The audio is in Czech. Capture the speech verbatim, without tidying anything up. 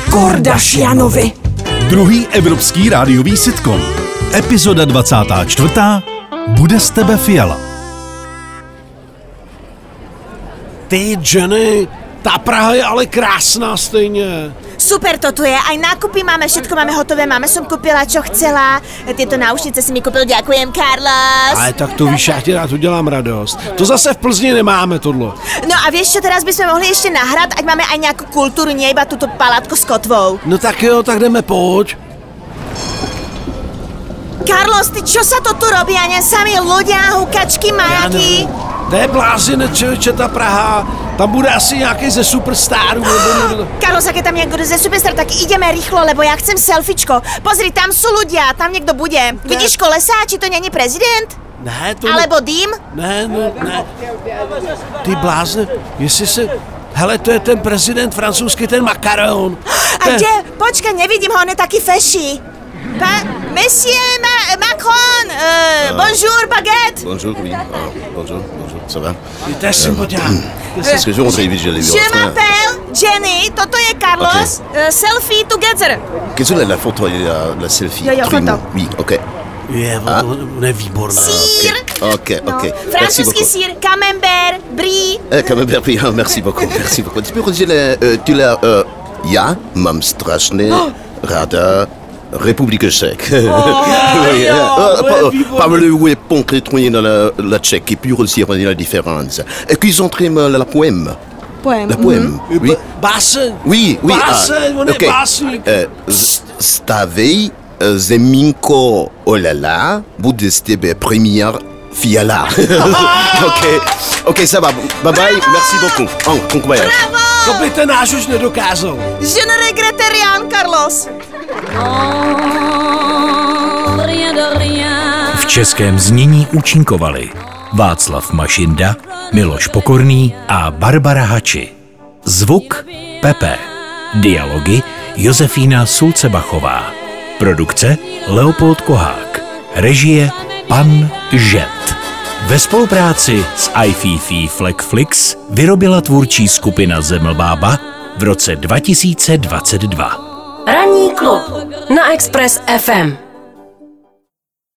Kordashianovi. Druhý evropský rádiový sitcom. Epizoda dvacátá čtvrtá. Bude z tebe Fiala. Ty, Jenny, ta Praha je ale krásná stejně. Super to tu je, aj nákupy máme, všetko máme hotové, máme som kúpila, čo chcela. Tieto náušnice si mi kúpil, ďakujem, Carlos. Ale tak to víš, já ti rád udělám radost. To zase v Plzni nemáme tohle. No a vieš čo, teraz by sme mohli ešte na hrad, ať máme aj nejakú kultúru, nie iba túto palátko s kotvou. No tak jo, tak jdeme, pojď. Carlos, ty čo sa to tu robí? A ne sami ľudia, hukačky, majaky. To je blázinec, člověče, ta Praha. Tam bude asi nějaký ze superstarů. Nebo... Carlos, ak je tam niekto ze superstar, tak ideme rýchlo, lebo ja chcem selfiečko. Pozri, tam sú ľudia, tam niekto bude. Ne. Vidíš kolesa, či to není prezident? Ne, to Alebo ne... dým? Ne, no, ne. Ty blázne, jestli se... Hele, to je ten prezident francouzský, ten Macron. A ten... kde? Počkaj, nevidím ho, on je taký feší. Pa... Monsieur Ma- Macron, euh, uh, bonjour, baguette. Bonjour, oui. Ah, bonjour, bonjour, ça va? To je sympatia. Parce que je rentre vite, je l'ai vu. Je m'appelle Jenny, toto je Carlos. Okay. Uh, selfie together. Qu'est-ce que la photo, la, la selfie? Jo, jo, Trumo. Oui, ok. Je, ah? on est výborná. Sír. Ok, ok. No. Okay. Francouzský sír, camembert, brie. Eh, camembert, brie, ah, merci beaucoup, merci beaucoup. Tu peux redire, euh, tu l'as, euh, ja, mam strasznie, oh. rada, République tchèque. Oh, oui, oh, euh, ouais, pas, pas le weapon crétonné dans la, la tchèque et puis aussi on la différence. Et qu'ils ont très mal la poème. Poème. La poème. Mm-hmm. Oui. Báseň. Oui, oui. Báseň, ah, on est okay. básník. Euh, Stavej zeminko olala, bude z tebe première Fiala. Ok, ok, ça va. Bye bye, merci beaucoup. Oh, bon voyage. Bravo! To by ten náš už nedokázal. Je ne regrette rien, Carlos. V českém znění účinkovali Václav Mašinda, Miloš Pokorný a Barbara Hači. Zvuk Pepe. Dialogy Josefína Sulcebachová. Produkce Leopold Kohák. Režie Pan Žet. Ve spolupráci s iFiFi Flexflix vyrobila tvůrčí skupina Zemlbába v roce dva tisíce dvacet dva. Ranní klub na Express ef em.